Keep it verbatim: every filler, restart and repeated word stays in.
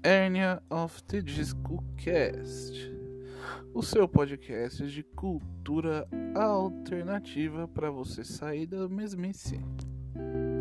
Hernia of the Disco Cast, o seu podcast de cultura alternativa para você sair da mesmice.